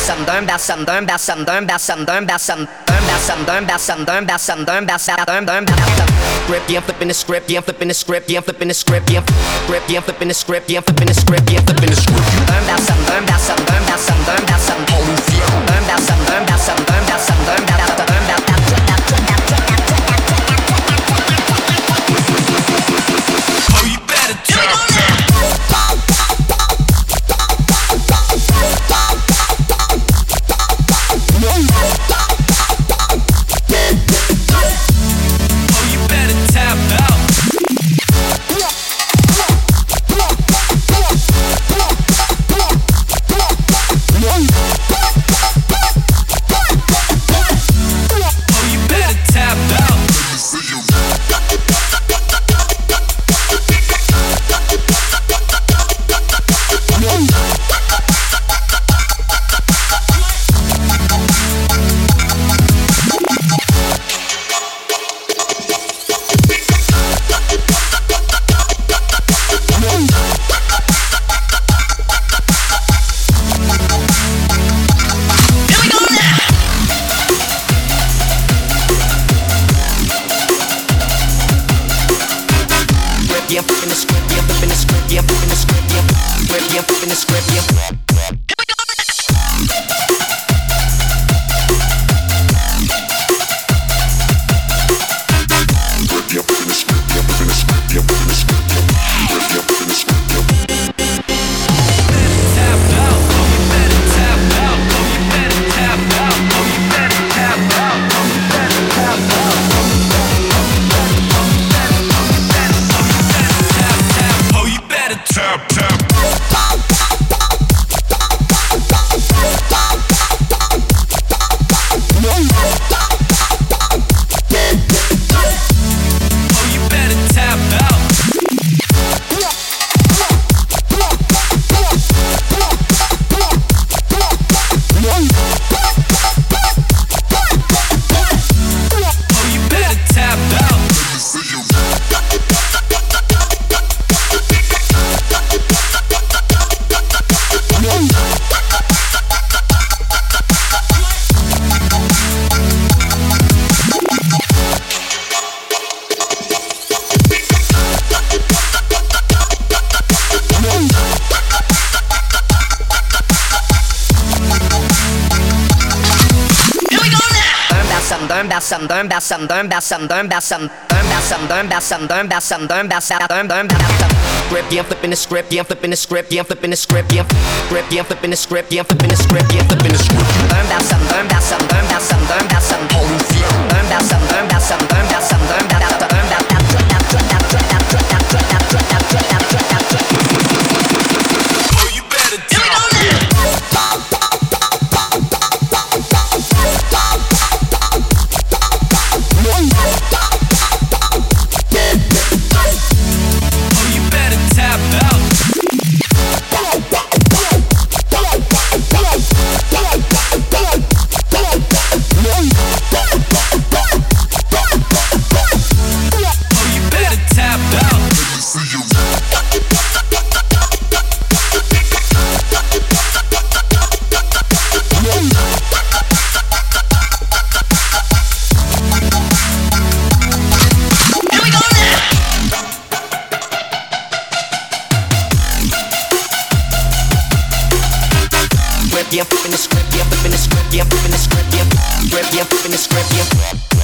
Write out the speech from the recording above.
Grip, yeah, I'm flipping the script, yeah, I'm flipping the script, yeah, I'm flipping the script, yeah, grip, yeah, I'm flipping the script, yeah, I'm flipping the script, yeah, I'm flipping the script. Oh, you better tap, tap. Yeah, I'm flipping the script, yeah, I'm flipping the script, yeah, I'm flipping the script, yeah, grip, yeah, I'm flipping the script, yeah. Grip, yeah, I'm flipping the script, yeah, I'm flipping the script, yeah, I'm flipping the script, yeah, grip, yeah, I'm flipping the script, yeah, I'm flipping the script, yeah, I'm flipping the script. Oh, you better yeah, I'm flipping the script, yeah, I'm flipping the script, yeah, I'm flipping the script, yeah, grip, yeah, I'm flipping the script, yeah.